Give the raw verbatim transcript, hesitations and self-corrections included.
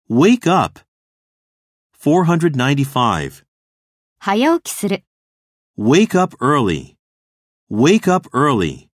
Wake up. four hundred ninety-five. 早起きする。 Wake up early. Wake up early.